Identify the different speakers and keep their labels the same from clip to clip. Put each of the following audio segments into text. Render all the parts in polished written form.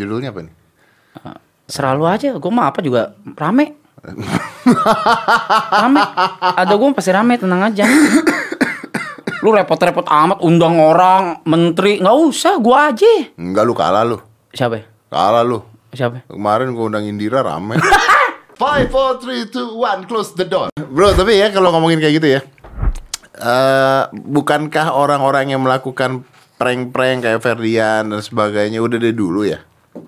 Speaker 1: Judulnya apa nih?
Speaker 2: Selalu aja, gue mah apa juga rame. Rame. Ada gue pasti rame, tenang aja. Lu repot-repot amat undang orang, menteri, nggak usah, gue aja.
Speaker 1: Enggak, lu kalah lu.
Speaker 2: Siapa?
Speaker 1: Kalah lu.
Speaker 2: Siapa?
Speaker 1: Kemarin gue undang Indira rame. 5, 4, 3, 2, 1, close the door. Bro, tapi ya kalau ngomongin kayak gitu ya, bukankah orang-orang yang melakukan prank-prank kayak Ferdian dan sebagainya udah dari dulu ya?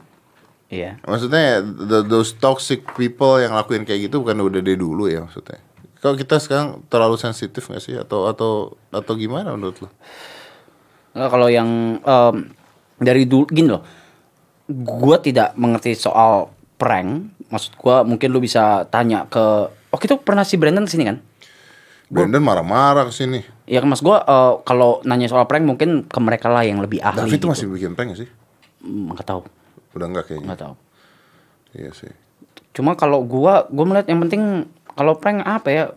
Speaker 2: Iya.
Speaker 1: Maksudnya those toxic people yang lakuin kayak gitu bukan udah dari dulu ya maksudnya? Kalau kita sekarang terlalu sensitif nggak sih atau gimana menurut lo?
Speaker 2: Nggak, kalau yang dari dulu gini loh, gue tidak mengerti soal prank. Maksud gue mungkin lu bisa tanya ke, waktu itu pernah si Brandon kesini kan?
Speaker 1: Brandon marah-marah kesini.
Speaker 2: Ya kan mas gue kalau nanya soal prank mungkin ke mereka lah yang lebih ahli.
Speaker 1: David
Speaker 2: gitu.
Speaker 1: tuh masih bikin prank gak sih?
Speaker 2: Nggak tahu.
Speaker 1: Udah enggak kayaknya.
Speaker 2: Nggak tahu.
Speaker 1: Iya sih.
Speaker 2: Cuma kalau gue melihat yang penting kalau prank apa ya?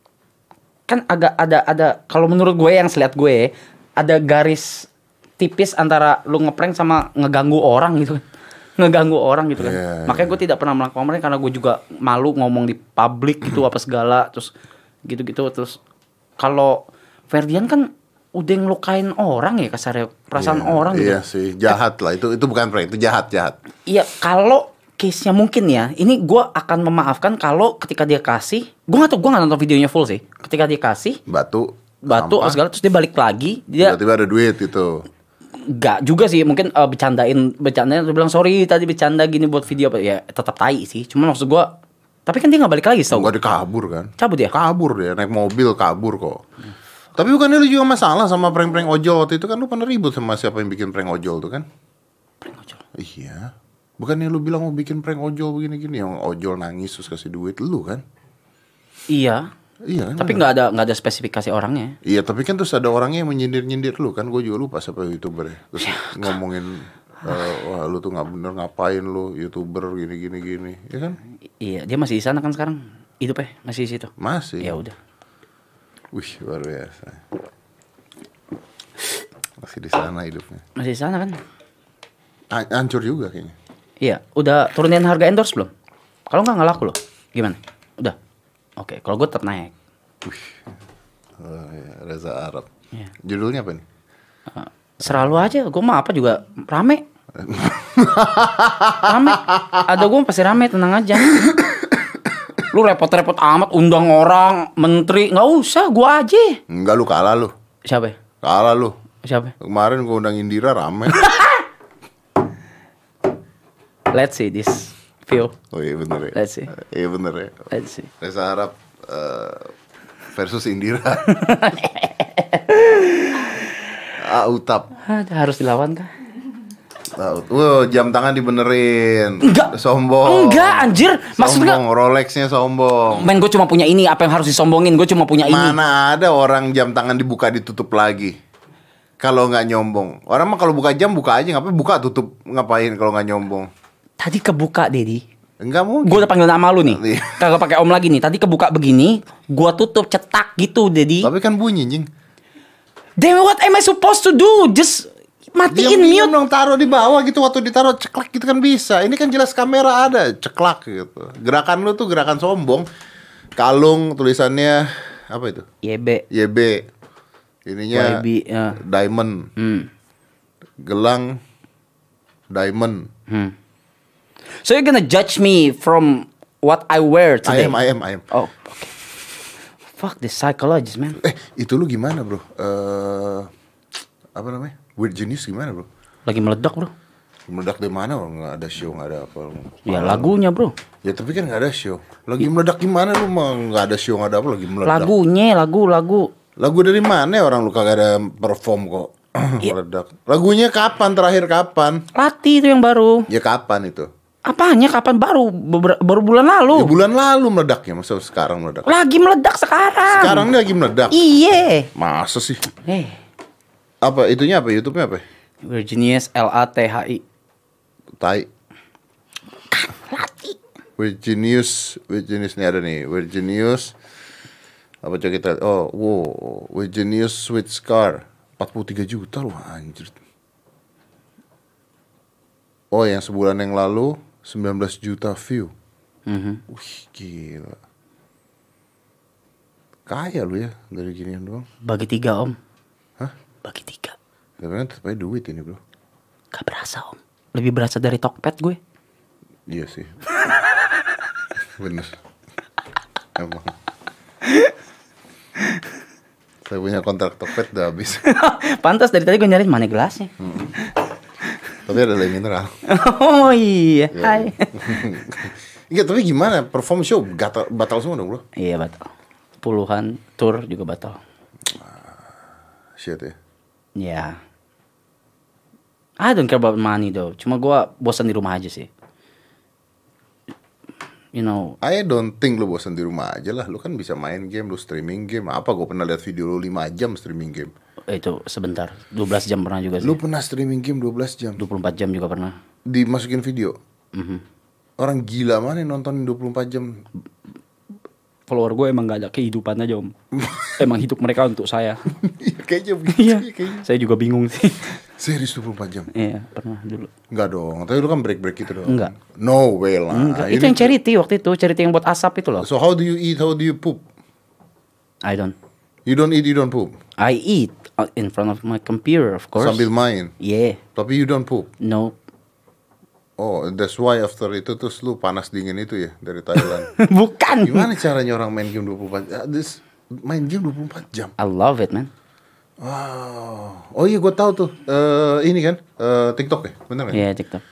Speaker 2: Kan agak ada kalau menurut gue yang selihat gue ada garis tipis antara lu ngeprank sama ngeganggu orang gitu kan. Ngeganggu orang gitu kan.
Speaker 1: Yeah,
Speaker 2: Makanya gue tidak pernah melakukan prank karena gue juga malu ngomong di publik gitu apa segala terus gitu-gitu. Terus kalau Ferdian kan udah ngelukain orang ya kasarnya perasaan orang gitu.
Speaker 1: Iya sih, jahat lah itu bukan prank, itu jahat.
Speaker 2: Iya, kalau case-nya mungkin ya, ini gue akan memaafkan kalau ketika dia kasih, gue nggak nonton videonya full sih. Ketika dia kasih
Speaker 1: batu
Speaker 2: segala terus dia balik lagi, dia
Speaker 1: tiba-tiba ada duit itu.
Speaker 2: nggak juga sih, mungkin bercandain dia bilang sorry tadi bercanda gini buat video apa ya, tetap tai sih. Cuma maksud gue, tapi kan dia nggak balik lagi, tau
Speaker 1: Enggak, dia kabur kan?
Speaker 2: Cabut ya?
Speaker 1: Kabur dia, naik mobil kabur kok. Tapi bukannya lu juga masalah sama prank-prank ojol waktu itu kan, lu pernah ribut sama siapa yang bikin prank ojol tuh kan?
Speaker 2: Prank ojol.
Speaker 1: Iya. Bukannya lu bilang mau bikin prank ojol begini-gini, yang ojol nangis terus kasih duit lu kan?
Speaker 2: Iya.
Speaker 1: Iya kan?
Speaker 2: Tapi nggak ada spesifikasi orangnya.
Speaker 1: Iya, tapi kan terus ada orangnya yang menyindir-nyindir lu kan, gue juga lupa siapa youtuber ya. Terus ngomongin, wah lu tuh nggak bener ngapain lu youtuber gini, ya kan?
Speaker 2: Iya, dia masih di sana kan sekarang, hidupnya masih di situ.
Speaker 1: Masih.
Speaker 2: Ya udah.
Speaker 1: Wih, luar biasa. Masih di sana hidupnya.
Speaker 2: Masih di sana kan?
Speaker 1: Hancur juga kayaknya.
Speaker 2: Iya, udah turunin harga endorse belum? Kalau nggak laku loh. Gimana? Udah. Oke, kalau gue tetap naik.
Speaker 1: Wih, ya, Reza Arab.
Speaker 2: Iya.
Speaker 1: Judulnya apa nih?
Speaker 2: Selalu aja, gue mah apa juga rame. Rame. Ada gue pasti rame, tenang aja. Lu repot-repot amat undang orang, menteri, nggak usah, gue aja.
Speaker 1: Enggak, lu kalah lu.
Speaker 2: Siapa?
Speaker 1: Kalah lu.
Speaker 2: Siapa?
Speaker 1: Kemarin gue undang Indira rame.
Speaker 2: Let's see this view.
Speaker 1: Oh iya bener ya.
Speaker 2: Let's see.
Speaker 1: Iya bener ya.
Speaker 2: Let's see.
Speaker 1: Reza Arab versus Indira. Utap.
Speaker 2: Harus dilawan kah?
Speaker 1: Wow, jam tangan dibenerin.
Speaker 2: Enggak.
Speaker 1: Sombong.
Speaker 2: Enggak, anjir. Maksudnya
Speaker 1: sombong, Rolexnya sombong.
Speaker 2: men, gue cuma punya ini. Apa yang harus disombongin? Gue cuma punya ini.
Speaker 1: Mana ada orang jam tangan dibuka ditutup lagi? Kalau nggak nyombong. Orang mah kalau buka jam buka aja, ngapain buka tutup ngapain kalau nggak nyombong?
Speaker 2: Tadi kebuka, Dedi.
Speaker 1: Enggak mungkin.
Speaker 2: Gue udah panggil nama lu nih.
Speaker 1: Iya.
Speaker 2: Kagak pakai om lagi nih. Tadi kebuka begini, gue tutup cetak gitu, Dedi.
Speaker 1: Tapi kan bunyi, Jing.
Speaker 2: Damn, what am I supposed to do? Just matiin
Speaker 1: Diam
Speaker 2: mute.
Speaker 1: dong, taruh di bawah gitu, waktu ditaruh ceklak gitu kan bisa. Ini kan jelas kamera ada, ceklak gitu. Gerakan lu tuh gerakan sombong. Kalung tulisannya apa itu?
Speaker 2: YB.
Speaker 1: YB. Ininya
Speaker 2: YB, ya.
Speaker 1: diamond. Gelang diamond.
Speaker 2: So you're gonna judge me from what I wear today?
Speaker 1: I am.
Speaker 2: Oh, okay. Fuck this psychologist, man.
Speaker 1: Itu lu gimana, bro? Apa namanya? Weird Genius gimana, bro?
Speaker 2: Lagi meledak, bro.
Speaker 1: Meledak di mana? Nggak ada show, nggak ada apa.
Speaker 2: Ya lagunya, bro.
Speaker 1: Ya tapi kan nggak ada show. Lagi meledak gimana lu? Mah nggak ada show, nggak ada apa, lagi meledak.
Speaker 2: Lagunya, lagu.
Speaker 1: Lagu dari mana ya, orang lu kagak ada perform kok. Meledak. Lagunya kapan? Terakhir kapan?
Speaker 2: Lati itu yang baru.
Speaker 1: Ya kapan itu?
Speaker 2: Apanya kapan baru? Baru bulan lalu.
Speaker 1: Ya bulan lalu meledaknya, masa sekarang meledak?
Speaker 2: Lagi meledak sekarang.
Speaker 1: Sekarang ini lagi meledak.
Speaker 2: Iya.
Speaker 1: Masa sih?
Speaker 2: Apa
Speaker 1: itunya apa? YouTube-nya apa?
Speaker 2: Virginius LATHI.
Speaker 1: Tai.
Speaker 2: Lati.
Speaker 1: Virginius ini ada nih. Virginius apa, coba kita? Oh, wow. Virginius Sweet Scar 43 juta loh, anjir. Oh, yang sebulan yang lalu 19 juta view.
Speaker 2: Mhm.
Speaker 1: Wih, gila. Kaya lu ya dari ginian doang.
Speaker 2: Bagi 3 om.
Speaker 1: Hah?
Speaker 2: Bagi 3.
Speaker 1: Tapi kan tetap aja duit ini, bro.
Speaker 2: Gak berasa om. Lebih berasa dari Tokped gue.
Speaker 1: Iya sih. Bener. Emang. Saya punya kontrak Tokped udah habis.
Speaker 2: Pantas dari tadi gue nyariin mana gelasnya.
Speaker 1: Tapi ada lagi mineral.
Speaker 2: Oh iya.
Speaker 1: Ya.
Speaker 2: Hai.
Speaker 1: Iya, tapi gimana? Perform show batal semua dong, bro?
Speaker 2: Iya batal. Puluhan tour juga batal.
Speaker 1: Shit ya.
Speaker 2: Ya. I don't care about money though. Cuma gue bosan di rumah aja sih. You know.
Speaker 1: I don't think lu bosan di rumah aja lah. Lu kan bisa main game, lu streaming game. Apa gue pernah lihat video lu 5 jam streaming game.
Speaker 2: Itu sebentar. 12 jam pernah juga sih.
Speaker 1: Lu pernah streaming game 12 jam?
Speaker 2: 24 jam juga pernah.
Speaker 1: Dimasukin video?
Speaker 2: Mhm.
Speaker 1: Orang gila mana yang nontonin 24 jam?
Speaker 2: Follower gue emang gak ada kehidupan aja om. Emang hidup mereka untuk saya.
Speaker 1: Kayaknya begitu.
Speaker 2: Iya.
Speaker 1: Kayaknya.
Speaker 2: Saya juga bingung sih.
Speaker 1: Serius 24 jam?
Speaker 2: Iya pernah dulu.
Speaker 1: Enggak dong. Tapi lu kan break-break gitu dong.
Speaker 2: Enggak.
Speaker 1: No way lah.
Speaker 2: Enggak.
Speaker 1: Ini-
Speaker 2: Itu yang charity waktu itu. Charity yang buat asap itu loh.
Speaker 1: So how do you eat? How do you poop?
Speaker 2: I don't.
Speaker 1: You don't eat, you don't poop.
Speaker 2: I eat in front of my computer of course.
Speaker 1: Sambil main.
Speaker 2: Yeah.
Speaker 1: Tapi you don't poop.
Speaker 2: No.
Speaker 1: Oh, that's why after itu terus lu panas dingin itu ya dari Thailand.
Speaker 2: Bukan.
Speaker 1: Gimana caranya orang main game 24 jam? Main game 24 jam.
Speaker 2: I love it man.
Speaker 1: Wow. Oh iya, gue tahu tuh. Ini kan TikTok ya, bener kan?
Speaker 2: Iya TikTok.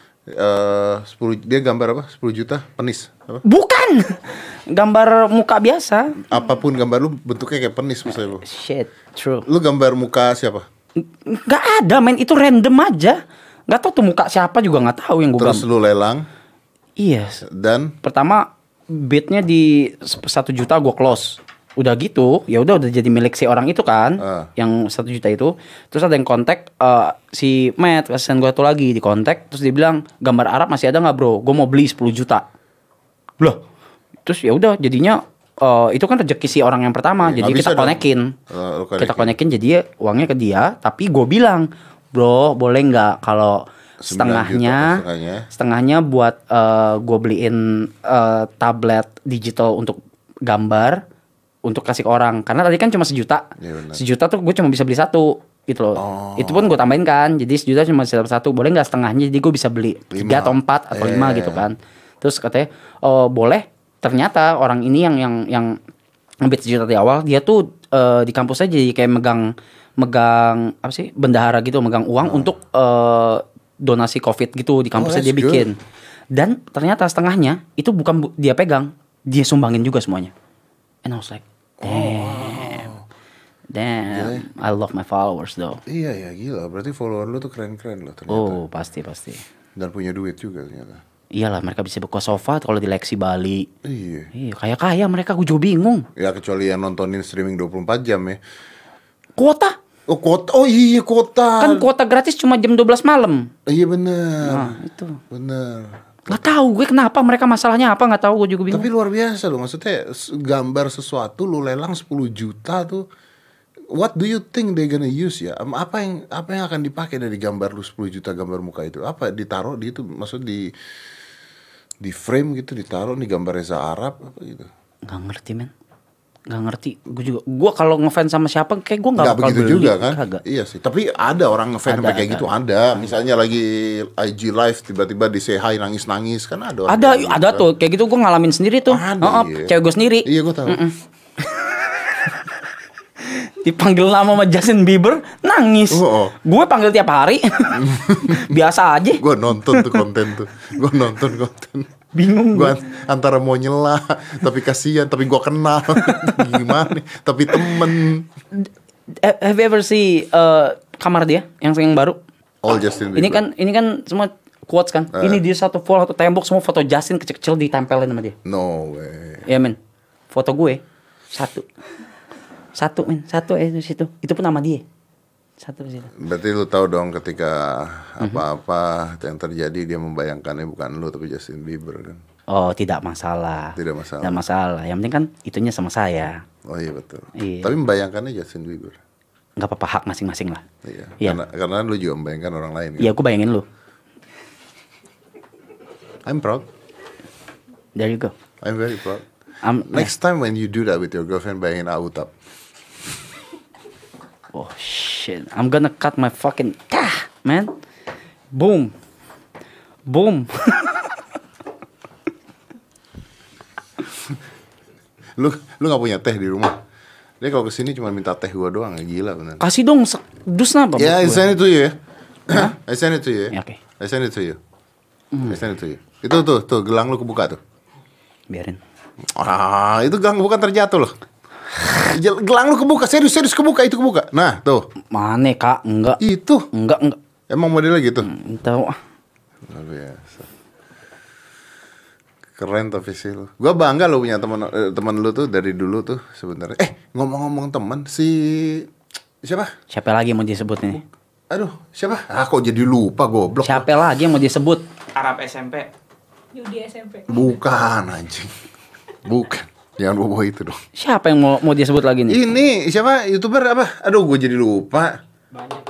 Speaker 1: 10 dia gambar apa? 10 juta penis. Apa?
Speaker 2: Bukan. Gambar muka biasa.
Speaker 1: Apapun gambar lu bentuknya kayak penis misalnya lu.
Speaker 2: Shit. True.
Speaker 1: Lu gambar muka siapa?
Speaker 2: Gak ada men. Itu random aja. Gak tau tuh muka siapa juga gak tahu yang gue
Speaker 1: Terus
Speaker 2: gambar.
Speaker 1: lu lelang
Speaker 2: Iya.
Speaker 1: dan
Speaker 2: Pertama bidnya di 1 juta gue close. Udah gitu, ya udah jadi milik si orang itu kan, yang 1 juta itu. Terus ada yang kontak si Matt, asisten gue tuh lagi di kontak. Terus dia bilang gambar Arab masih ada nggak bro? Gue mau beli 10 juta. Loh, terus ya udah jadinya itu kan rezeki si orang yang pertama.
Speaker 1: Ya,
Speaker 2: jadi
Speaker 1: nggak
Speaker 2: kita
Speaker 1: bisa dong.
Speaker 2: konekin,
Speaker 1: Lu
Speaker 2: kita konekin jadi uangnya ke dia. Tapi gue bilang, bro boleh nggak kalau
Speaker 1: 9 juta,
Speaker 2: setengahnya buat gue beliin tablet digital untuk gambar untuk kasih ke orang, karena tadi kan cuma 1 juta.
Speaker 1: Ya, benar.
Speaker 2: 1 juta tuh gue cuma bisa beli 1 gitu loh. Itu pun gue tambahin kan, jadi 1 juta cuma bisa dapat 1. Boleh nggak setengahnya, jadi gue bisa beli 3 atau 4 atau 5 gitu kan. Terus katanya boleh. Ternyata orang ini yang ngebit 1 juta di awal, dia tuh di kampus aja jadi kayak megang apa sih, bendahara gitu, megang uang untuk donasi COVID gitu di kampusnya dia
Speaker 1: that's
Speaker 2: bikin. Dan ternyata setengahnya itu bukan dia pegang, dia sumbangin juga semuanya. And I was like, damn, I love my followers though.
Speaker 1: iya ya, gila. Berarti follower lu tuh keren-keren loh ternyata.
Speaker 2: Oh pasti.
Speaker 1: Dan punya duit juga ternyata.
Speaker 2: Iyalah mereka bisa buka sofa kalau di Lexi Bali.
Speaker 1: Iya.
Speaker 2: Iya kaya mereka, gue juga bingung.
Speaker 1: Ya kecuali yang nontonin streaming 24 jam ya.
Speaker 2: Kuota,
Speaker 1: Oh kuota, oh iya kuota.
Speaker 2: kan kuota gratis cuma jam 12 malam.
Speaker 1: Iya bener.
Speaker 2: Nah itu.
Speaker 1: Bener.
Speaker 2: Gak tahu gue kenapa mereka masalahnya apa, nggak tahu, gue juga bingung.
Speaker 1: Tapi luar biasa loh, maksudnya gambar sesuatu lu lelang 10 juta tuh. What do you think they gonna use ya? Apa yang akan dipakai dari gambar lu 10 juta gambar muka itu? Apa ditaruh di itu, maksud di frame gitu, ditaruh nih gambar Reza Arab apa gitu?
Speaker 2: Nggak ngerti men, nggak ngerti. Gue kalau ngefans sama siapa kayak gue nggak bakal
Speaker 1: begitu
Speaker 2: beli.
Speaker 1: juga kan?
Speaker 2: Kagak.
Speaker 1: Iya sih. Tapi ada orang ngefans sampai kayak gitu, ada. Misalnya lagi IG live tiba-tiba di say hi nangis-nangis kan ada. Orang kayak gitu
Speaker 2: Ada
Speaker 1: kan.
Speaker 2: tuh kayak gitu, gue ngalamin sendiri tuh.
Speaker 1: Ada, iya.
Speaker 2: Cewek gue sendiri.
Speaker 1: Iya gue tahu.
Speaker 2: Dipanggil nama sama Justin Bieber, nangis. Gue panggil tiap hari. Biasa aja.
Speaker 1: Gue nonton tuh konten tuh. Gue nonton konten.
Speaker 2: Bingung
Speaker 1: Gue antara mau nyela tapi kasihan, tapi gue kenal. Gimana? Tapi temen.
Speaker 2: Have you ever see kamar dia yang baru?
Speaker 1: All Justin Bieber.
Speaker 2: Ini kan semua quotes kan. Ini dia satu tembok semua foto Justin kecil-kecil ditempelin sama dia.
Speaker 1: No way.
Speaker 2: Ya men, foto gue satu di situ. Itu pun nama dia. Satu di situ.
Speaker 1: Berarti lu tahu dong ketika apa-apa yang terjadi dia membayangkannya bukan lu tapi Justin Bieber kan.
Speaker 2: Oh, tidak masalah.
Speaker 1: Tidak masalah.
Speaker 2: Tidak masalah. Yang penting kan itunya sama saya.
Speaker 1: Oh iya betul.
Speaker 2: Iya.
Speaker 1: Tapi membayangkannya Justin Bieber.
Speaker 2: Nggak apa-apa, hak masing-masing lah.
Speaker 1: Iya.
Speaker 2: Iya.
Speaker 1: Karena lu juga membayangkan orang lain kan.
Speaker 2: Iya, aku bayangin lu.
Speaker 1: I'm proud.
Speaker 2: There you go.
Speaker 1: I'm very proud.
Speaker 2: Next
Speaker 1: time when you do that with your girlfriend, bayangin Autab.
Speaker 2: Oh shit, I'm gonna cut my fucking man. Boom.
Speaker 1: Lu nggak punya teh di rumah? Dia kalau kesini cuma minta teh gua doang, gila bener.
Speaker 2: Kasih dong dus apa?
Speaker 1: Ya, I send it to you ya. I send it to you.
Speaker 2: Ya, oke.
Speaker 1: I send it to you. I send it to you. Itu tuh gelang lu kebuka tuh.
Speaker 2: Biarin.
Speaker 1: Itu gelang bukan terjatuh loh. Gelang lu kebuka, serius kebuka, itu kebuka. Nah, tuh.
Speaker 2: Mana Kak? Enggak.
Speaker 1: Itu.
Speaker 2: Enggak.
Speaker 1: Emang modelnya gitu?
Speaker 2: Tahu.
Speaker 1: Luar biasa. Keren tapi sih lu. Gua bangga lu punya teman lu tuh dari dulu tuh sebenarnya. Ngomong-ngomong teman, siapa?
Speaker 2: Siapa lagi yang mau disebut nih?
Speaker 1: Aduh, siapa? Kok jadi lupa goblok.
Speaker 2: Siapa lagi yang mau disebut? Arab SMP.
Speaker 3: Yudi SMP.
Speaker 1: Bukan anjing. Bukan. Jangan bawa itu dong.
Speaker 2: Siapa yang mau disebut lagi nih?
Speaker 1: Ini siapa? YouTuber apa? Aduh, gue jadi lupa.
Speaker 3: Banyak.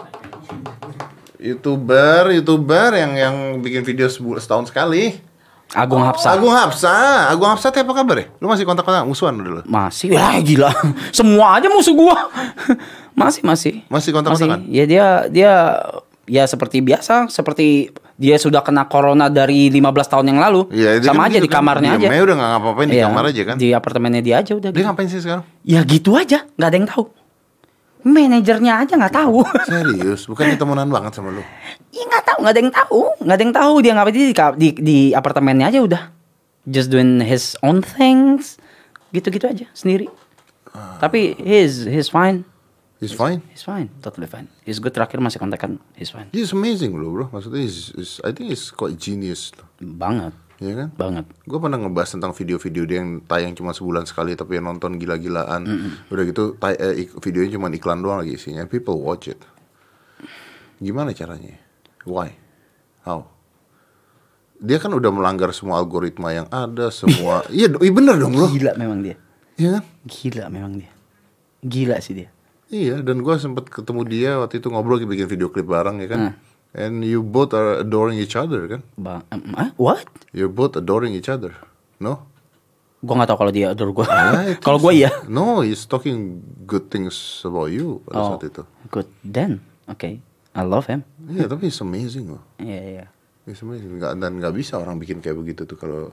Speaker 1: YouTuber yang bikin video setahun sekali.
Speaker 2: Agung Hapsah.
Speaker 1: Agung Hapsah apa kabar ya? Lu masih kontak-kontak musuhan dulu?
Speaker 2: Masih. Wah, gila. Semua aja musuh gua. Masih.
Speaker 1: Masih kontak-kontakan?
Speaker 2: Ya dia ya seperti biasa, seperti dia sudah kena corona dari 15 tahun yang lalu.
Speaker 1: Ya,
Speaker 2: sama
Speaker 1: kan
Speaker 2: aja di kamarnya aja.
Speaker 1: Dia udah gak ngapa-ngapain di kamar aja kan?
Speaker 2: Di apartemennya dia aja udah.
Speaker 1: Dia ngapain sih sekarang?
Speaker 2: Ya gitu aja, nggak ada yang tahu. Manajernya aja nggak tahu.
Speaker 1: Serius? Bukannya temenan banget sama lu?
Speaker 2: Iya nggak tahu, nggak ada yang tahu dia ngapain di apartemennya aja udah. Just doing his own things, gitu-gitu aja sendiri. Tapi he's fine.
Speaker 1: He's fine?
Speaker 2: He's fine, totally fine. He's good, terakhir masih kontekan, he's fine.
Speaker 1: He's amazing loh bro. Maksudnya I think he's quite genius loh.
Speaker 2: Banget.
Speaker 1: Iya kan?
Speaker 2: Banget.
Speaker 1: Gue pernah ngebahas tentang video-video dia yang tayang cuma sebulan sekali tapi yang nonton gila-gilaan. Udah gitu videonya cuma iklan doang lagi isinya. People watch it. Gimana caranya? Why? How? Dia kan udah melanggar semua algoritma yang ada, semua. Iya bener dong bro.
Speaker 2: Gila memang dia.
Speaker 1: Iya kan?
Speaker 2: Gila memang dia. Gila sih dia.
Speaker 1: Iya, dan gue sempet ketemu dia waktu itu ngobrol bikin video klip bareng ya kan. And you both are adoring each other kan?
Speaker 2: What?
Speaker 1: You're both adoring each other, no?
Speaker 2: Gue nggak tahu kalau dia adore gue.
Speaker 1: Kalau
Speaker 2: gue iya.
Speaker 1: No, he's talking good things about you pada saat itu.
Speaker 2: Good then, okay. I love him.
Speaker 1: Iya, tapi it's amazing loh.
Speaker 2: Iya.
Speaker 1: It's amazing. Dan nggak bisa orang bikin kayak begitu tuh kalau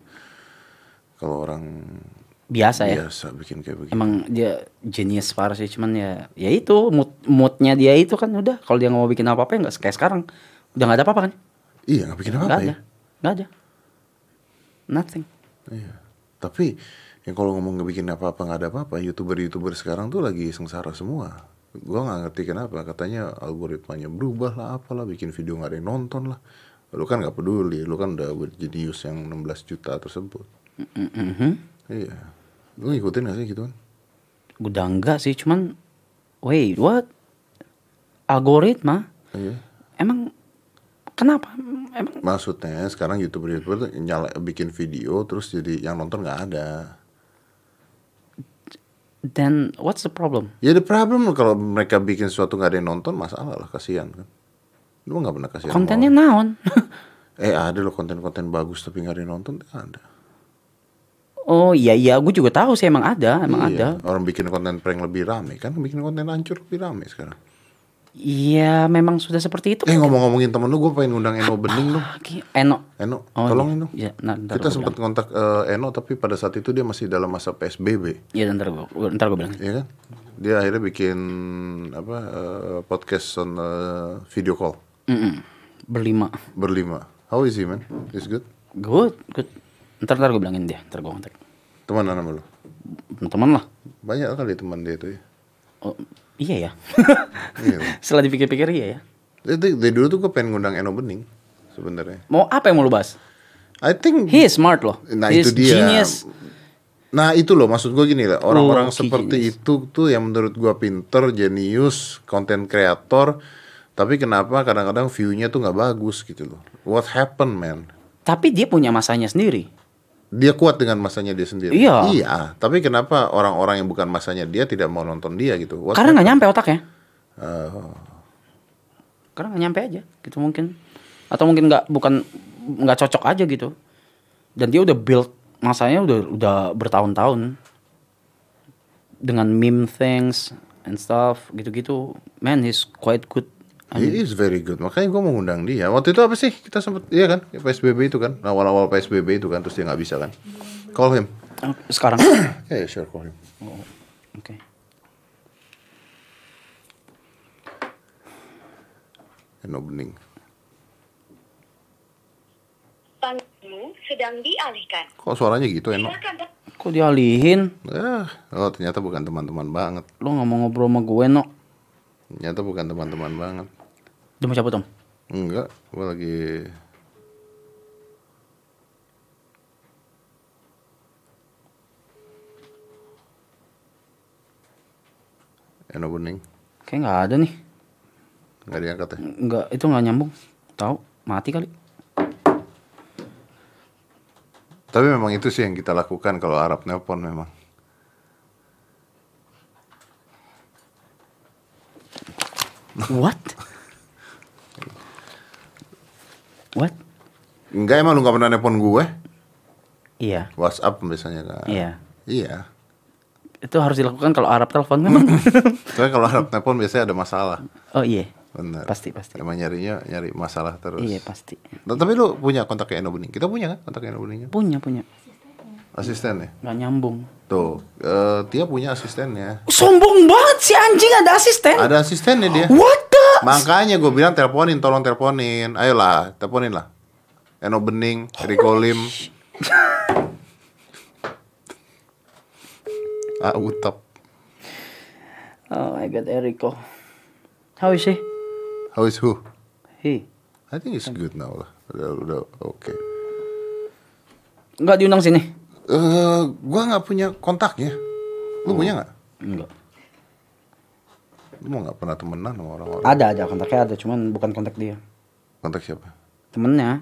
Speaker 1: orang
Speaker 2: Biasa ya.
Speaker 1: Biasa bikin kayak begitu.
Speaker 2: Emang dia genius parah sih, cuman ya itu moodnya dia itu kan udah. Kalau dia nggak mau bikin apa-apa ya nggak kayak sekarang. Udah nggak ada apa-apa kan?
Speaker 1: Iya, nggak bikin apa-apa ya.
Speaker 2: Nggak ada. Nothing.
Speaker 1: Iya. Tapi yang kalau ngomong nggak bikin apa-apa nggak ada apa-apa, youtuber sekarang tuh lagi sengsara semua. Gua nggak ngerti kenapa. Katanya algoritmanya berubah lah, apalah, bikin video nggak ada yang nonton lah. Lu kan nggak peduli, lu kan udah berjenius yang 16 juta tersebut. Iya. Lu ngikutin gak sih gituan?
Speaker 2: Udah enggak sih, cuman wait, what? Algoritma?
Speaker 1: Iya.
Speaker 2: Emang kenapa? Emang
Speaker 1: Maksudnya sekarang YouTuber tuh bikin video terus jadi yang nonton nggak ada.
Speaker 2: then what's the problem?
Speaker 1: Ya the problem kalau mereka bikin sesuatu nggak ada yang nonton, masalah lah, kasihan kan. Lu nggak pernah kasihan.
Speaker 2: Kontennya naon?
Speaker 1: Ada loh konten-konten bagus tapi nggak ada yang nonton, ada.
Speaker 2: Oh iya, gue juga tahu sih emang ada.
Speaker 1: Orang bikin konten prank lebih rame kan, bikin konten hancur lebih rame sekarang.
Speaker 2: Iya, memang sudah seperti itu.
Speaker 1: Ngomong-ngomongin temen lu, gue pengen ngundang Eno Bening lu.
Speaker 2: Eno,
Speaker 1: Tolong Eno.
Speaker 2: Iya,
Speaker 1: Kita sempat kontak Eno tapi pada saat itu dia masih dalam masa PSBB.
Speaker 2: Iya, ntar gue bilang.
Speaker 1: Iya kan? Dia akhirnya bikin podcast on video call.
Speaker 2: Berlima.
Speaker 1: How is he man? Is good?
Speaker 2: Good. Ntar gue bilangin dia, ntar gue kontak.
Speaker 1: Teman sama lu?
Speaker 2: Teman lah.
Speaker 1: Banyak kali teman dia itu ya.
Speaker 2: Oh, iya ya.
Speaker 1: Iya.
Speaker 2: Setelah dipikir-pikir iya ya.
Speaker 1: Dari dulu tuh gue pengen ngundang Eno Bening sebenarnya.
Speaker 2: Mau apa yang mau lu bahas?
Speaker 1: I think
Speaker 2: He is smart loh.
Speaker 1: Nah
Speaker 2: He
Speaker 1: itu
Speaker 2: is
Speaker 1: dia.
Speaker 2: Genius.
Speaker 1: Nah itu loh maksud gue gini lah. Orang-orang seperti
Speaker 2: genius.
Speaker 1: itu tuh yang menurut gue pinter, jenius, konten kreator. Tapi kenapa kadang-kadang view-nya tuh nggak bagus gitu loh. What happened man?
Speaker 2: Tapi dia punya masanya sendiri.
Speaker 1: Dia kuat dengan masanya dia sendiri.
Speaker 2: Iya.
Speaker 1: Tapi kenapa orang-orang yang bukan masanya dia tidak mau nonton dia gitu?
Speaker 2: Karena nggak nyampe otaknya.
Speaker 1: Oh.
Speaker 2: Karena nggak nyampe aja gitu mungkin. Atau mungkin nggak cocok aja gitu. Dan dia udah build masanya udah bertahun-tahun dengan meme things and stuff gitu-gitu. Man, he's quite good.
Speaker 1: He is very good. Makanya gue mau ngundang dia. Waktu itu apa sih? Kita sempet, iya kan? PSBB itu kan. Awal-awal PSBB itu kan. Terus dia gak bisa kan. Call him.
Speaker 2: Sekarang?
Speaker 1: Yeah, sure, call him.
Speaker 2: Oh, oke.
Speaker 1: Eno Bening.
Speaker 3: Panggilanmu sedang dialihkan.
Speaker 1: Kok suaranya gitu Eno?
Speaker 2: Kok dialihin?
Speaker 1: Oh ternyata bukan teman-teman banget.
Speaker 2: Lo gak mau ngobrol sama gue, no?
Speaker 1: Ternyata bukan teman-teman banget.
Speaker 2: Udah mau cabut, Om?
Speaker 1: Enggak, gue lagi... Eno Bening.
Speaker 2: Kayak gak ada nih.
Speaker 1: Nggak diangkat ya?
Speaker 2: Enggak, itu gak nyambung. Tahu, mati kali.
Speaker 1: Tapi memang itu sih yang kita lakukan kalau Arab nelpon memang.
Speaker 2: What? What?
Speaker 1: Enggak, emang lu gak pernah nelpon gue?
Speaker 2: Iya.
Speaker 1: WhatsApp biasanya kan?
Speaker 2: Iya.
Speaker 1: Iya.
Speaker 2: Itu harus dilakukan kalau Arab telepon memang.
Speaker 1: Soalnya kalau Arab nelpon biasanya ada masalah.
Speaker 2: Oh iya.
Speaker 1: Benar.
Speaker 2: Pasti.
Speaker 1: Emang nyari masalah terus.
Speaker 2: Iya pasti.
Speaker 1: Nah, tapi lu punya kontaknya Eno Bening? Kita punya kan kontaknya Eno Bening?
Speaker 2: Punya.
Speaker 1: Asisten ya?
Speaker 2: Nggak nyambung.
Speaker 1: Tuh, dia punya asistennya.
Speaker 2: Sombong banget si anjing ada asisten.
Speaker 1: Ada asistennya dia.
Speaker 2: What the?
Speaker 1: Makanya gue bilang tolong teleponin. Ayolah, teleponin lah. Eno Bening, Rico Lim. Utap.
Speaker 2: Oh my god, Eriko. How is he?
Speaker 1: How is who?
Speaker 2: He.
Speaker 1: I think it's good now lah. Udah oke.
Speaker 2: Nggak diundang sini?
Speaker 1: Gua nggak punya kontaknya. Lu punya nggak?
Speaker 2: Enggak.
Speaker 1: Lu mau nggak pernah temenan sama orang-orang?
Speaker 2: Ada kontaknya ada, cuman bukan kontak dia.
Speaker 1: Kontak siapa?
Speaker 2: Temennya.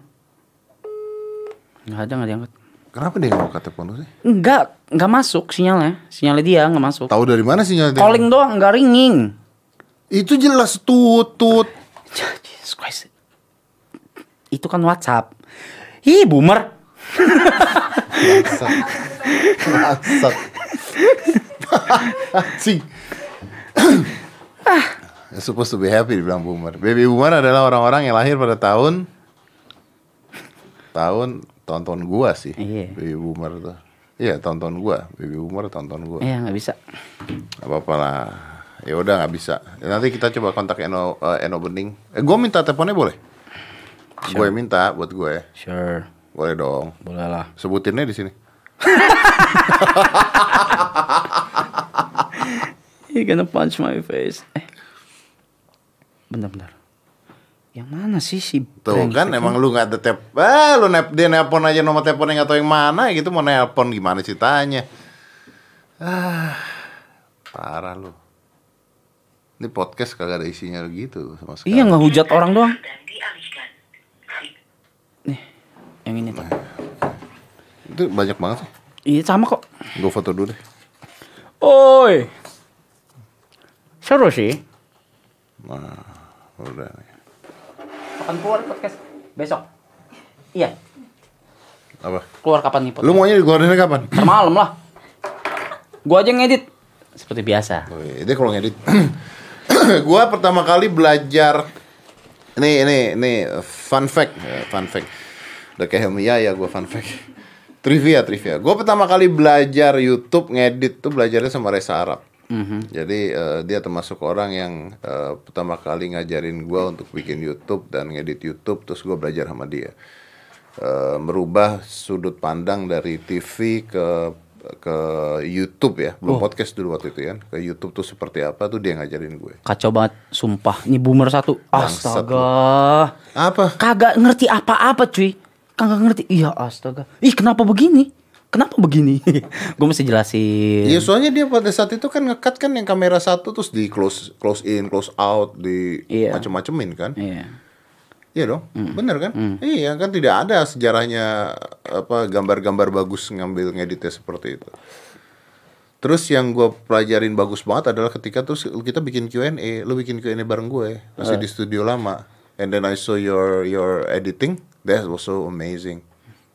Speaker 2: Nggak diangkat.
Speaker 1: Kenapa dia nggak mau telepon lu sih?
Speaker 2: Nggak masuk sinyalnya. Sinyalnya dia nggak masuk.
Speaker 1: Tahu dari mana sinyalnya?
Speaker 2: Calling doang, nggak ringing.
Speaker 1: Itu jelas tutut.
Speaker 2: Jesus Christ. Itu kan WhatsApp. Ih, boomer.
Speaker 1: Masak. Anjing. You're supposed to be happy dibilang boomer. Baby boomer adalah orang-orang yang lahir pada tahun gua sih.
Speaker 2: Iya.
Speaker 1: Baby boomer tuh. Iya, tahun gua. Baby boomer tahun gua.
Speaker 2: Iya, nggak bisa.
Speaker 1: Apa-apa lah. Ya udah nggak bisa. Nanti kita coba kontak Eno Bening. Gue minta teleponnya boleh?
Speaker 2: Sure.
Speaker 1: Gue minta buat gue.
Speaker 2: Sure.
Speaker 1: Boleh dong.
Speaker 2: Boleh lah.
Speaker 1: Sebutinnya di sini.
Speaker 2: He gonna punch my face. Bentar. Yang mana sih si
Speaker 1: Tuh kan emang lu nggak ada dia nelpon aja nomor teleponnya nggak tahu yang mana gitu, mau nelpon gimana ceritanya? Parah lu. Ini podcast kagak ada isinya gitu sama sekali.
Speaker 2: Iya, ngehujat orang doang. Nih, yang ini tuh.
Speaker 1: Itu banyak banget sih.
Speaker 2: Iya, sama kok.
Speaker 1: Gue foto dulu deh.
Speaker 2: Oi. Seru sih.
Speaker 1: Nah, udah nih.
Speaker 2: Kapan keluar podcast? Besok. Iya.
Speaker 1: Apa?
Speaker 2: Keluar kapan nih podcast?
Speaker 1: Lu maunya dikeluarinnya kapan?
Speaker 2: Ntar malam lah. Gua aja ngedit seperti biasa.
Speaker 1: Oh, iya. Dia kalau ngedit. Gua pertama kali belajar. Ini fun fact. Udah kayak Helmi ya gua fun fact. Trivia. Gua pertama kali belajar YouTube ngedit tuh belajarnya sama Reza Arab. Jadi dia termasuk orang yang pertama kali ngajarin gua untuk bikin YouTube dan ngedit YouTube, terus gua belajar sama dia. Merubah sudut pandang dari TV ke YouTube ya, belum podcast dulu waktu itu ya. Ke YouTube tuh seperti apa tuh dia ngajarin gue.
Speaker 2: Kacau banget, sumpah. Ini boomer satu.
Speaker 1: Bangsat
Speaker 2: Astaga.
Speaker 1: Apa?
Speaker 2: Kagak ngerti apa-apa, cuy. Kagak ngerti. Iya, astaga. Ih, kenapa begini? Gue mesti jelasin.
Speaker 1: Iya, soalnya dia pada saat itu kan nge-cut kan yang kamera satu terus di close in, close out, di macem-macemin kan.
Speaker 2: Iya.
Speaker 1: Iya dong, bener kan? Iya kan, tidak ada sejarahnya apa gambar-gambar bagus ngambil ngeditnya seperti itu. Terus yang gue pelajarin bagus banget adalah ketika terus kita bikin Q&A, lu bikin Q&A bareng gue, masih di studio lama, and then I saw your editing, that was so amazing.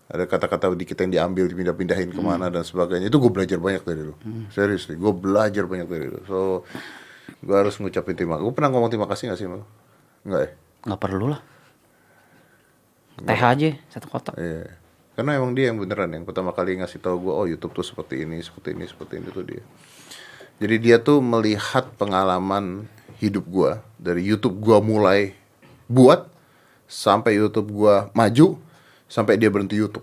Speaker 1: Ada kata-kata dikit yang diambil, dipindah-pindahin kemana dan sebagainya. Itu gue belajar banyak dari lu. Seriously, gue belajar banyak dari lu. So, gue harus ngucapin terima kasih. Gue pernah ngomong terima kasih gak sih sama lu? Enggak ya?
Speaker 2: Nggak perlu lah. Teh aja satu kotak.
Speaker 1: Iya. Karena emang dia yang beneran yang pertama kali ngasih tahu gue, oh YouTube tuh seperti ini tuh dia. Jadi dia tuh melihat pengalaman hidup gue dari YouTube gue mulai buat sampai YouTube gue maju sampai dia berhenti YouTube.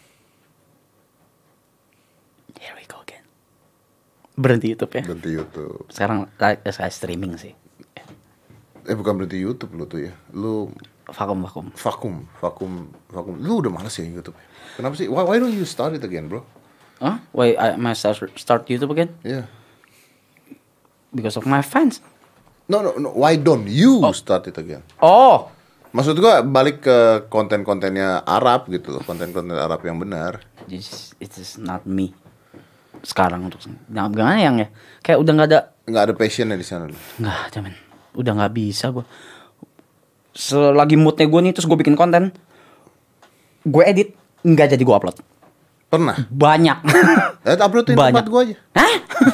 Speaker 2: Here we go again. Berhenti YouTube ya.
Speaker 1: Berhenti YouTube.
Speaker 2: Sekarang saya streaming sih.
Speaker 1: Bukan berhenti YouTube lu tuh ya. Lu
Speaker 2: Vakum.
Speaker 1: vakum. Lu udah males ya YouTube. Kenapa sih? Why don't you start it again, bro?
Speaker 2: Huh? Why I must start YouTube again?
Speaker 1: Yeah.
Speaker 2: Because of my fans.
Speaker 1: No. Why don't you start it again?
Speaker 2: Oh,
Speaker 1: Maksud gua balik ke konten-kontennya Arab gitu loh, konten-konten Arab yang benar.
Speaker 2: it is not me. Sekarang untuk gimana yang ya? Kayak udah nggak ada
Speaker 1: Passionnya di sana.
Speaker 2: nggak ada men. Udah nggak bisa gue. Selagi moodnya gue nih terus gue bikin konten, gue edit nggak jadi gue upload.
Speaker 1: Pernah?
Speaker 2: Banyak.
Speaker 1: Uploadin tempat gue aja.
Speaker 2: Hah?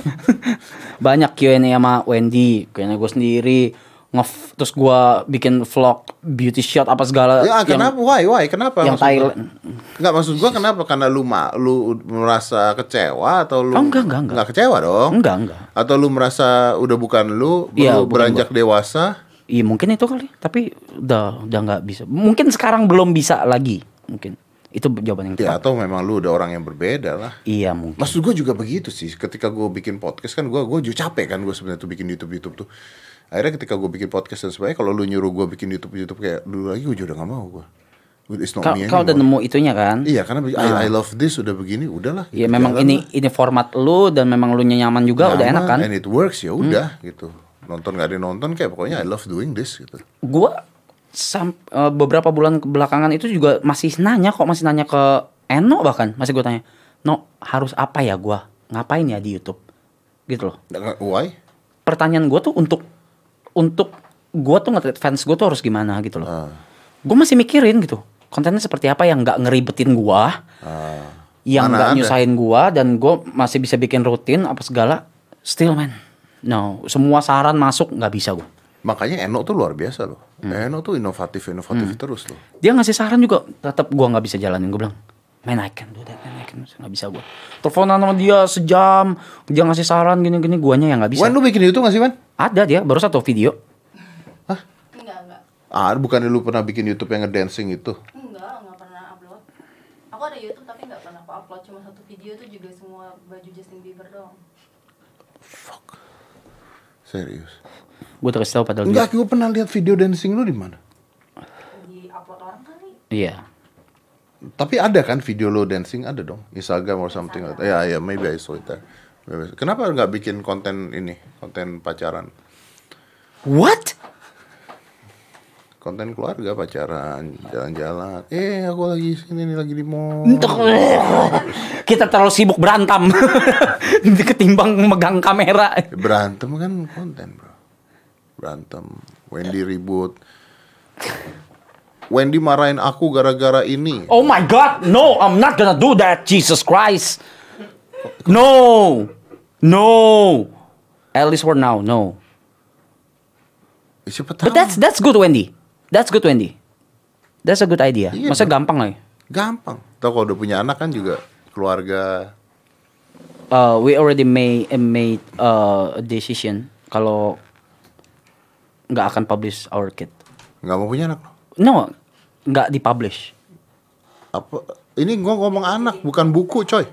Speaker 2: Banyak Q&A sama Wendy, Q&A gue sendiri. Terus gue bikin vlog beauty shot apa segala.
Speaker 1: Ya kenapa? Why? Kenapa?
Speaker 2: Yang Thailand.
Speaker 1: Enggak, maksud gue kenapa? Karena lu merasa kecewa atau lu?
Speaker 2: Oh, enggak.
Speaker 1: Enggak kecewa dong.
Speaker 2: Enggak.
Speaker 1: Atau lu merasa udah bukan lu,
Speaker 2: Iya,
Speaker 1: beranjak dewasa?
Speaker 2: Iya mungkin itu kali. Tapi udah nggak bisa. Mungkin sekarang belum bisa lagi. Mungkin itu jawaban yang
Speaker 1: Ya
Speaker 2: tepat.
Speaker 1: atau memang lu udah orang yang berbeda lah.
Speaker 2: Iya mungkin.
Speaker 1: Maksud gue juga begitu sih. Ketika gue bikin podcast kan gue juga capek kan gue sebenarnya tuh bikin YouTube tuh. Akhirnya ketika gue bikin podcast dan sebagainya, kalau lu nyuruh gue bikin YouTube kayak dulu lagi, gue juga udah gak mau gue. It's not me
Speaker 2: Kau udah
Speaker 1: anymore.
Speaker 2: nemu itunya kan?
Speaker 1: Iya, karena I love this udah begini, udahlah.
Speaker 2: Iya
Speaker 1: gitu,
Speaker 2: memang
Speaker 1: jalan
Speaker 2: ini format lu dan memang lu nyaman juga udah enak kan?
Speaker 1: And it works ya udah gitu. Nonton gak ada yang nonton kayak pokoknya I love doing this gitu.
Speaker 2: Gua beberapa bulan belakangan itu juga masih nanya ke Eno bahkan masih gue tanya, "No, harus apa ya gua? Ngapain ya di YouTube?" Gitu loh.
Speaker 1: Why?
Speaker 2: Pertanyaan gua tuh untuk gua tuh nge-treat fans gua tuh harus gimana gitu loh. Gua masih mikirin gitu. Kontennya seperti apa yang nggak ngeribetin gua. Yang nggak nyusahin gua dan gua masih bisa bikin rutin apa segala. Still man. No, semua saran masuk nggak bisa gua.
Speaker 1: Makanya Eno tuh luar biasa loh. Eno tuh inovatif terus loh.
Speaker 2: Dia ngasih saran juga tetap gua nggak bisa jalanin. Gua bilang, "Man, I can do that, man. I can." Nggak bisa gua. Teleponan sama dia sejam, dia ngasih saran gini-gini, guanya yang nggak bisa.
Speaker 1: Wan, lu bikin YouTube nggak sih, Wan?
Speaker 2: Ada dia baru satu video.
Speaker 4: Enggak.
Speaker 1: Bukannya lu pernah bikin YouTube yang ngedancing itu?
Speaker 4: Enggak pernah upload. Aku ada YouTube tapi enggak pernah aku upload, cuma satu video tuh juga semua baju Justin Bieber doang.
Speaker 1: Fuck. Serius?
Speaker 2: Gue terus tahu padahal
Speaker 1: Enggak, gue pernah lihat video dancing lu di mana?
Speaker 4: Di upload orang kali.
Speaker 2: Iya.
Speaker 1: Tapi ada kan video lo dancing, ada dong, Instagram or something like that. Ya, maybe I saw it there. Kenapa nggak bikin konten ini, konten pacaran,
Speaker 2: What?
Speaker 1: konten keluarga, pacaran, jalan-jalan? Aku lagi sini nih, lagi di mall.
Speaker 2: Kita terlalu sibuk berantem ketimbang megang kamera.
Speaker 1: Berantem kan konten, bro. Berantem. Wendy ribut. Wendy marahin aku gara-gara ini.
Speaker 2: Oh my god, no, I'm not gonna do that, Jesus Christ. No. At least for now, no.
Speaker 1: Siapa tahu.
Speaker 2: But that's good, Wendy. That's good, Wendy. That's a good idea.
Speaker 1: Iya,
Speaker 2: Maksudnya
Speaker 1: bro.
Speaker 2: gampang lah.
Speaker 1: Gampang. Tahu kalau udah punya anak kan juga keluarga.
Speaker 2: We already made a decision kalau nggak akan publish our kid.
Speaker 1: Nggak mau punya anak.
Speaker 2: No, nggak dipublish.
Speaker 1: Apa? Ini gua ngomong anak, bukan buku, coy.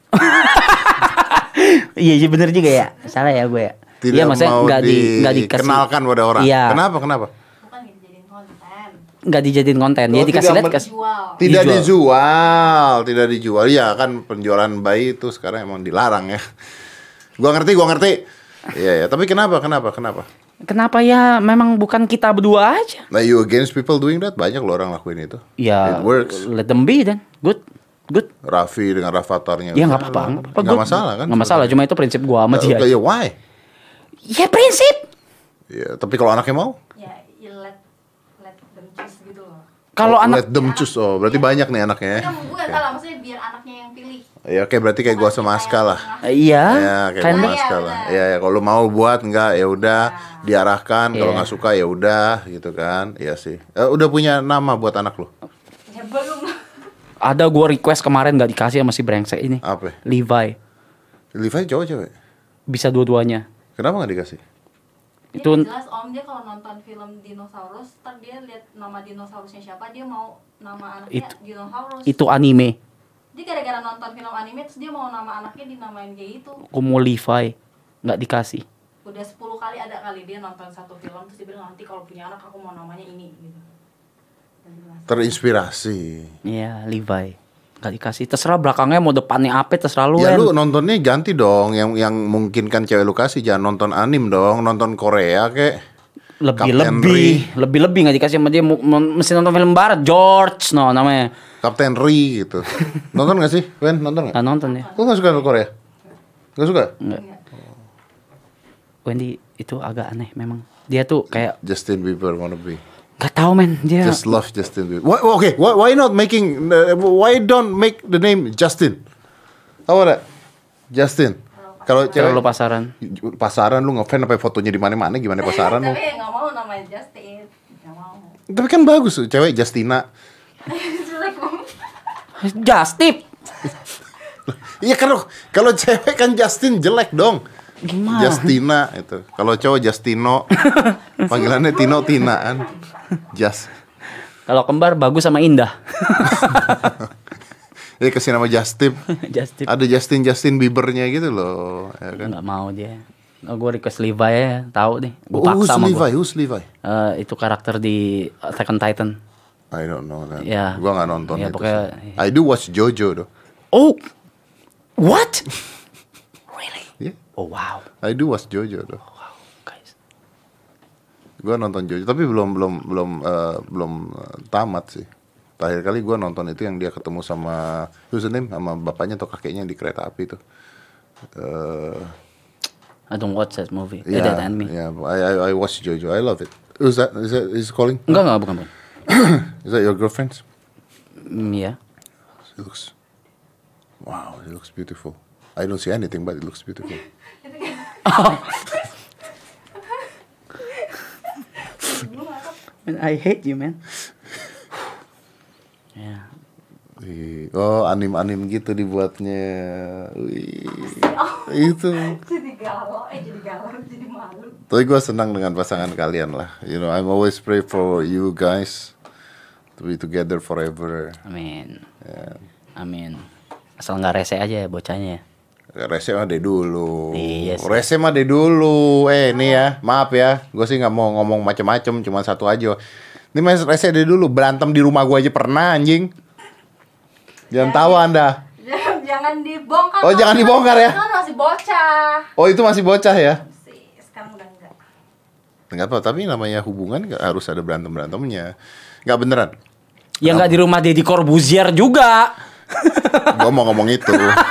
Speaker 2: Iya bener juga ya. Salah ya gue ya.
Speaker 1: Tidak
Speaker 2: Iya maksudnya
Speaker 1: mau
Speaker 2: nggak dikasih.
Speaker 1: dikenalkan pada orang.
Speaker 2: Iya.
Speaker 1: Kenapa?
Speaker 4: Bukan nggak dijadiin konten.
Speaker 2: Nggak dijadiin konten. Dia
Speaker 1: Oh,
Speaker 2: dikasih
Speaker 1: tidak
Speaker 2: lihat
Speaker 4: Jual.
Speaker 1: Tidak dijual. Ya kan penjualan bayi itu sekarang emang dilarang ya. Gua ngerti. Iya, tapi kenapa?
Speaker 2: Kenapa ya? Memang bukan kita berdua aja.
Speaker 1: Nah, you against people doing that? Banyak loh orang lakuin itu.
Speaker 2: Ya,
Speaker 1: It works.
Speaker 2: let them be then. Good.
Speaker 1: Raffi dengan Rafatarnya.
Speaker 2: Ya nggak apa-apa.
Speaker 1: Nggak masalah kan?
Speaker 2: Nggak masalah. Cuma itu prinsip gua sama dia.
Speaker 1: Ya why?
Speaker 2: Ya prinsip.
Speaker 1: Ya, tapi kalau anaknya mau?
Speaker 4: Ya, let them choose gitu loh.
Speaker 2: Kalau anak
Speaker 1: Let them choose. Oh, berarti banyak nih anaknya ya.
Speaker 4: Kan bukan salah, biar anaknya yang pilih.
Speaker 1: Ya oke, berarti kayak gua sama Aska lah.
Speaker 2: Iya.
Speaker 1: Ya kayak
Speaker 2: Kan
Speaker 1: gua sama
Speaker 4: Iya,
Speaker 1: Aska lah.
Speaker 4: benar.
Speaker 1: Ya, ya kalau mau buat enggak ya udah diarahkan, kalau
Speaker 2: Iya.
Speaker 1: nggak suka ya udah gitu kan. Iya sih. Udah punya nama buat anak lu?
Speaker 4: Ya belum.
Speaker 2: Ada gua request kemarin nggak dikasih sama si brengsek ini.
Speaker 1: Apa?
Speaker 2: Levi.
Speaker 1: Levi cowok cewek?
Speaker 2: Bisa dua-duanya.
Speaker 1: Kenapa nggak dikasih?
Speaker 4: Dia
Speaker 2: Itu-
Speaker 4: nggak jelas om, dia kalau nonton film dinosaurus, ntar dia lihat nama dinosaurusnya siapa, dia mau nama anaknya dinosaurus.
Speaker 2: Itu anime.
Speaker 4: Dia gara-gara nonton film anime terus dia mau nama anaknya dinamain kayak itu.
Speaker 2: Aku mau Levi. Nggak dikasih.
Speaker 4: Udah 10 kali ada kali dia nonton satu film terus dia bilang nanti kalau punya anak aku mau namanya ini gitu. Dan dia bilang,
Speaker 1: Terinspirasi.
Speaker 2: Iya, Levi. Nggak dikasih. Terserah belakangnya mau depannya apa, terserah lu.
Speaker 1: Ya
Speaker 2: Wen.
Speaker 1: lu nontonnya ganti dong, yang memungkinkan cewek lu kasih, jangan nonton anim dong, nonton Korea kek. Kapten
Speaker 2: lebih nggak dikasih sama dia. Mesti nonton film barat. George, no namanya.
Speaker 1: Kapten Ri gitu. Nonton gak sih? Wen, nonton gak?
Speaker 2: Nggak nonton ya.
Speaker 1: Lu gak suka Korea? Gak suka?
Speaker 2: Enggak. Wendy itu agak aneh memang. Dia tuh kayak
Speaker 1: Justin Bieber wannabe.
Speaker 2: nggak tahu men dia.
Speaker 1: Just love Justin Bieber. Why not making? Why don't make the name Justin? How about that? Justin. Kalau
Speaker 2: Kalau lu
Speaker 1: cewek
Speaker 2: pasaran.
Speaker 1: lu ngefans sampai fotonya di mana-mana, gimana pasaran lu?
Speaker 4: tapi nggak mau namanya Justin, nggak mau.
Speaker 1: Tapi kan bagus tuh, cewek Justina.
Speaker 4: Jelek om.
Speaker 2: Justip.
Speaker 1: Iya kalau cewek kan Justin jelek dong.
Speaker 2: Gimana?
Speaker 1: Justina itu. Kalau cowok Justino. Panggilannya Tino Tinaan. Just.
Speaker 2: Kalau kembar bagus sama indah.
Speaker 1: Jadi kasih nama Justip.
Speaker 2: Justip.
Speaker 1: Ada Justin Biebernya gitu loh, ya kan?
Speaker 2: Nggak mau dia. Oh, gue request Levi ya, tahu deh. Gue
Speaker 1: Who's
Speaker 2: paksa sama
Speaker 1: Levi?
Speaker 2: gue.
Speaker 1: Who's Levi?
Speaker 2: Itu karakter di Attack on Titan.
Speaker 1: I don't know that.
Speaker 2: Ya.
Speaker 1: Gua nggak nonton
Speaker 2: Ya,
Speaker 1: itu.
Speaker 2: pokoknya-
Speaker 1: sih. I do watch Jojo though.
Speaker 2: Oh, what? Really?
Speaker 1: Yeah.
Speaker 2: Oh wow,
Speaker 1: I do watch Jojo though.
Speaker 2: guys.
Speaker 1: Gua nonton Jojo tapi belum tamat sih. Terakhir kali gua nonton itu yang dia ketemu sama who's the name, sama bapaknya atau kakeknya di kereta api itu.
Speaker 2: I don't watch that movie.
Speaker 1: Yeah,
Speaker 2: That anime.
Speaker 1: yeah, I watch Jojo. I love it. Is it calling?
Speaker 2: Enggak, bukan.
Speaker 1: Is that your girlfriend?
Speaker 2: Iya.
Speaker 1: She looks. Wow, it looks beautiful. I don't see anything, but it looks beautiful.
Speaker 2: Man, I hate you, man. Ya.
Speaker 1: Oh, anim-anim gitu dibuatnya. Wih, itu.
Speaker 4: Jadi galau, jadi malu.
Speaker 1: Tapi gue senang dengan pasangan kalian lah. You know, I'm always pray for you guys to be together forever.
Speaker 2: Amin.
Speaker 1: Ya.
Speaker 2: Amin. Asal nggak rese aja ya bocahnya.
Speaker 1: Rese mah deh dulu.
Speaker 2: Iya sih.
Speaker 1: Rese mah deh dulu. Nih ya, maaf ya. Gue sih nggak mau ngomong macem-macem, cuma satu aja. Ini mas Rese deh dulu. Berantem di rumah gue aja pernah anjing. Jangan tahu anda.
Speaker 4: Jangan dibongkar.
Speaker 1: Oh, jangan dibongkar ya?
Speaker 4: Kan masih bocah.
Speaker 1: Oh itu masih bocah ya?
Speaker 4: Sih, sekarang udah enggak.
Speaker 1: Enggak apa, tapi namanya hubungan nggak harus ada berantem-berantemnya. Nggak beneran.
Speaker 2: Ya nggak di rumah Deddy Corbuzier juga.
Speaker 1: Gue mau ngomong itu.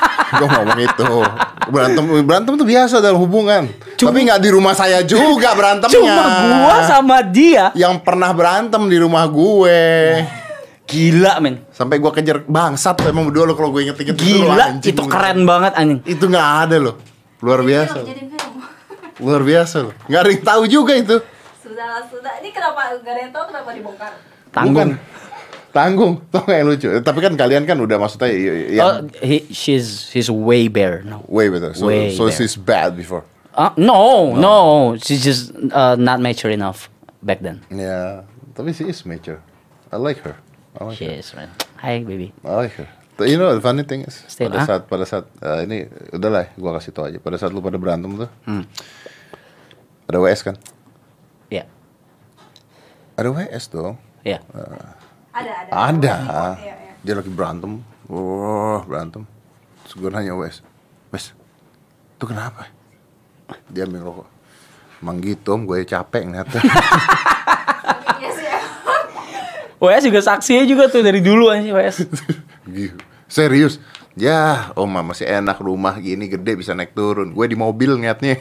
Speaker 1: Berantem tuh biasa dalam hubungan. Tapi nggak di rumah saya juga berantemnya.
Speaker 2: Cuma gua sama dia.
Speaker 1: yang pernah berantem di rumah gue.
Speaker 2: Gila, men.
Speaker 1: Sampai gue kejar bangsat tuh emang berdua lo kalau gue inget-inget dulu,
Speaker 2: Gila,
Speaker 1: anjing.
Speaker 2: itu keren banget anjing.
Speaker 1: Itu nggak ada loh. Luar biasa.
Speaker 4: Jadiin film.
Speaker 1: Luar biasa loh. Nggak ada yang tahu juga itu.
Speaker 4: Sudah. Ini kenapa enggak ada yang tahu kenapa dibongkar?
Speaker 2: Tanggung.
Speaker 1: Tanggung. Tau nggak yang lucu? Tapi kan kalian kan udah maksudnya
Speaker 2: Oh, she's way better. No.
Speaker 1: way better. So,
Speaker 2: Way
Speaker 1: so
Speaker 2: better.
Speaker 1: she's bad before.
Speaker 2: No. She's just not mature enough back then.
Speaker 1: Ya, tapi she is mature. I like her. I like
Speaker 2: She
Speaker 1: her.
Speaker 2: is, man. Hi, baby.
Speaker 1: I like her. But you know the funny thing is
Speaker 2: Still,
Speaker 1: pada saat ini udahlah gua kasih tau aja. Pada saat lu pada berantem tuh. Ada WS kan?
Speaker 2: Ya,
Speaker 1: Ada WS dong.
Speaker 2: ya.
Speaker 1: Ada.
Speaker 4: Iya.
Speaker 1: Dia lagi berantem. Berantem. Terus gue nanya WS. Wes, itu kenapa? Dia ambil rokok. Emang gitu om, gue capek ngeliatnya.
Speaker 4: Iya sih. Ya.
Speaker 2: WS juga saksinya juga tuh dari dulu aja WS.
Speaker 1: Gitu. Serius. Ya, om masih enak rumah gini gede bisa naik turun. Gue di mobil ngeliatnya.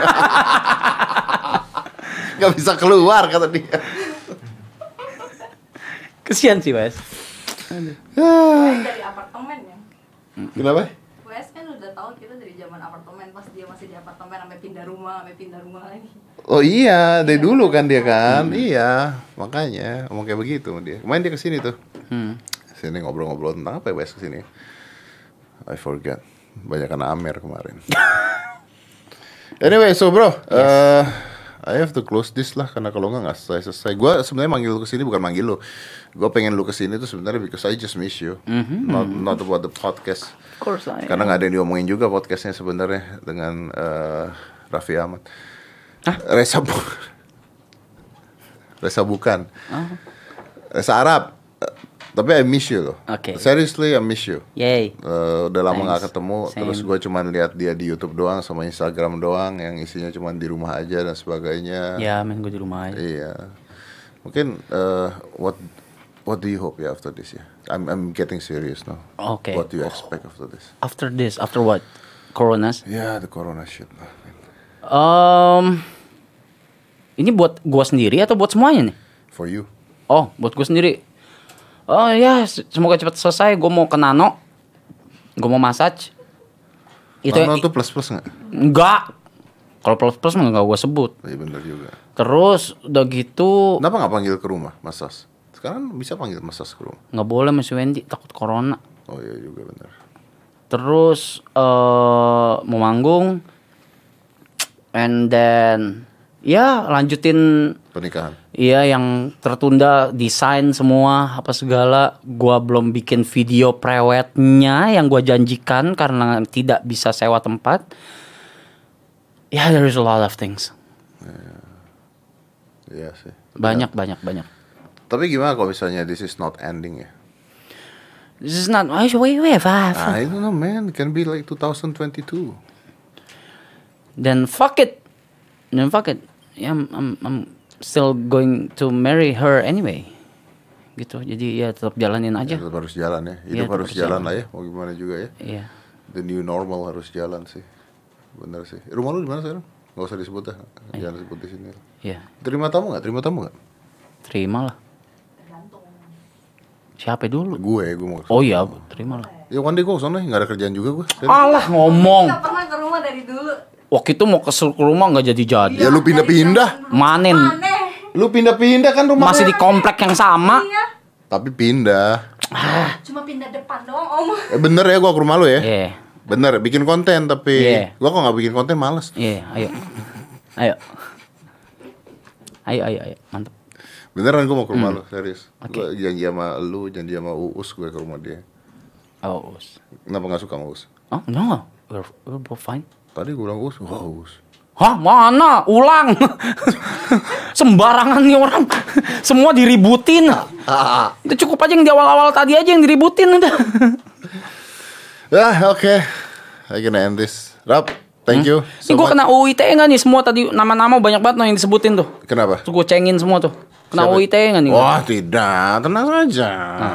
Speaker 1: Gak bisa keluar kata dia.
Speaker 2: Kesian sih WS.
Speaker 4: Dari apartemen ya.
Speaker 1: Kenapa?
Speaker 4: Wes kan udah tahu kita dari zaman apartemen, pas dia masih di apartemen sampai pindah rumah lagi.
Speaker 1: Oh iya, dari dulu kan dia kan. Iya, makanya ngomong kayak begitu sama dia. Kemarin dia kesini tuh. Sini ngobrol-ngobrol tentang apa ya Wes kesini? I forget. Banyakan Amer kemarin. Anyway, so bro, I have to close this lah karena kalau nggak selesai. Gue sebenarnya manggil lu kesini bukan manggil lu. Gue pengen lu kesini tuh sebenarnya because I just miss you. Not about the podcast.
Speaker 2: Of course lah.
Speaker 1: Karena nggak ada yang diomongin juga podcastnya sebenarnya dengan Raffi Ahmad.
Speaker 2: Hah?
Speaker 1: Reza bukan. Reza Arab. Tapi I miss you loh.
Speaker 2: Oke.
Speaker 1: Seriously I miss you.
Speaker 2: Yay.
Speaker 1: Udah lama
Speaker 2: Thanks.
Speaker 1: gak ketemu.
Speaker 2: Same.
Speaker 1: Terus gue cuma lihat dia di YouTube doang sama Instagram doang yang isinya cuma di rumah aja dan sebagainya.
Speaker 2: Ya, men gue di rumah aja.
Speaker 1: Iya. Mungkin what do you hope ya after this ya? I'm getting serious now.
Speaker 2: Oke.
Speaker 1: What do you expect after this?
Speaker 2: After this, after what? Coronas?
Speaker 1: Ya, the corona shit lah.
Speaker 2: Ini buat gua sendiri atau buat semuanya nih?
Speaker 1: For you.
Speaker 2: Oh, buat gua sendiri. Oh ya, semoga cepat selesai. Gua mau ke Nano. Gua mau massage. Itu
Speaker 1: Nano tuh plus nggak?
Speaker 2: enggak. Kalau plus mah enggak gua sebut.
Speaker 1: Iya benar juga.
Speaker 2: Terus udah gitu
Speaker 1: Kenapa nggak panggil ke rumah massage? Sekarang bisa panggil massage ke rumah.
Speaker 2: nggak boleh Mas Wendy takut corona.
Speaker 1: Oh iya juga benar.
Speaker 2: Terus mau manggung. And then ya lanjutin.
Speaker 1: Pernikahan.
Speaker 2: Iya yang tertunda, desain semua apa segala. Gua belum bikin video prewednya yang gua janjikan karena tidak bisa sewa tempat. Ya, there is a lot of things.
Speaker 1: Iya sih.
Speaker 2: Banyak.
Speaker 1: Tapi gimana kalau misalnya this is not ending ya?
Speaker 2: This is not. I
Speaker 1: don't know man, it can be like 2022.
Speaker 2: Then fuck it. Yeah, I'm still going to marry her anyway. Gitu. Jadi ya tetap jalanin aja.
Speaker 1: Ya, tetap harus jalan ya. Hidup
Speaker 2: Iya,
Speaker 1: harus
Speaker 2: tetap
Speaker 1: jalan
Speaker 2: jalan.
Speaker 1: lah ya. Mau gimana juga ya.
Speaker 2: Iya.
Speaker 1: The new normal harus jalan sih. Bener sih. Rumah lu di mana sekarang? Gak usah disebut dah. Jangan sebut di sini.
Speaker 2: Iya.
Speaker 1: Terima tamu nggak?
Speaker 2: Terima lah. Siapa dulu?
Speaker 1: Gue mau.
Speaker 2: Oh iya, terima lah.
Speaker 1: Ya one day gue kesana, nggak ada kerjaan juga gue.
Speaker 2: Alah ngomong.
Speaker 4: Nggak pernah ke rumah dari dulu.
Speaker 2: Waktu itu mau ke rumah nggak jadi-jadi.
Speaker 1: Ya lu pindah-pindah.
Speaker 2: Manin.
Speaker 4: Aneh.
Speaker 1: Lu pindah-pindah kan rumah.
Speaker 2: Masih di komplek yang sama.
Speaker 4: Iya.
Speaker 1: Tapi pindah.
Speaker 4: Cuma pindah depan doang om.
Speaker 1: Bener ya gue ke rumah lu ya.
Speaker 2: Iya.
Speaker 1: Bener, bikin konten tapi
Speaker 2: Iya.
Speaker 1: gue kok nggak bikin konten males.
Speaker 2: Iya, ayo. Ayo, mantap.
Speaker 1: Beneran gue mau ke rumah lu, serius.
Speaker 2: Oke.
Speaker 1: Gue janji sama lu, janji sama Uus gue ke rumah dia.
Speaker 2: Oh,
Speaker 1: Kenapa nggak suka sama Uus?
Speaker 2: oh no, we're both fine.
Speaker 1: Tadi gue bilang Uus, wah Uus.
Speaker 2: Hah, mana? Ulang. Sembarangan nih orang. Semua diributin. Itu cukup aja yang di awal-awal tadi aja yang diributin udah.
Speaker 1: Oke. I gonna end this. Rap, thank you.
Speaker 2: Ini gue kena UU ITE nggak nih semua tadi nama-nama banyak banget yang disebutin tuh.
Speaker 1: Kenapa?
Speaker 2: Terus gue cengin semua tuh. Kena
Speaker 1: Siapa?
Speaker 2: UU ITE nggak nih?
Speaker 1: Wah tidak, tenang saja.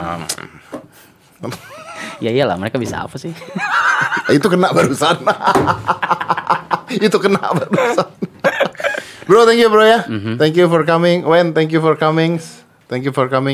Speaker 2: Ya iyalah mereka bisa apa sih?
Speaker 1: Itu kena barusan. Itu kena barusan. Bro, thank you bro ya. Thank you for coming. Wen, thank you for coming. Thank you for coming.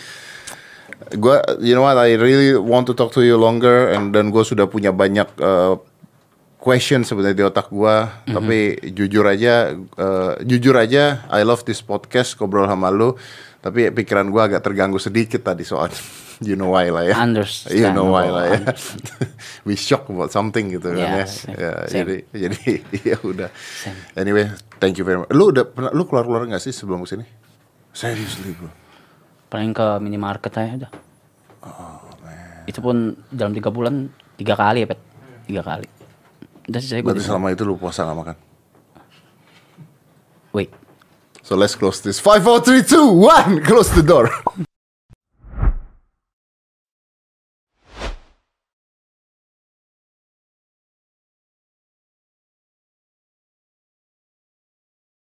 Speaker 1: You know what? I really want to talk to you longer. Dan gue sudah punya banyak question sebenarnya di otak gue. Tapi jujur aja, I love this podcast ngobrol sama lu. Tapi pikiran gue agak terganggu sedikit tadi soalnya. You know why lah ya.
Speaker 2: Understand.
Speaker 1: You know why lah ya. We shock about something gitu kan ya.
Speaker 2: Same.
Speaker 1: Ya,
Speaker 2: Same.
Speaker 1: jadi ya udah. Anyway, thank you very much. Lu keluar nggak sih sebelum kesini? Seriously bro.
Speaker 2: Paling ke minimarket aja udah. Itu pun dalam 3 bulan 3 kali ya Pet. 3 kali. Udah sih saya gue.
Speaker 1: Berarti selama itu lu puasa nggak makan?
Speaker 2: Wait.
Speaker 1: So let's close this. 5, 4, 3, 2, 1. Close the door.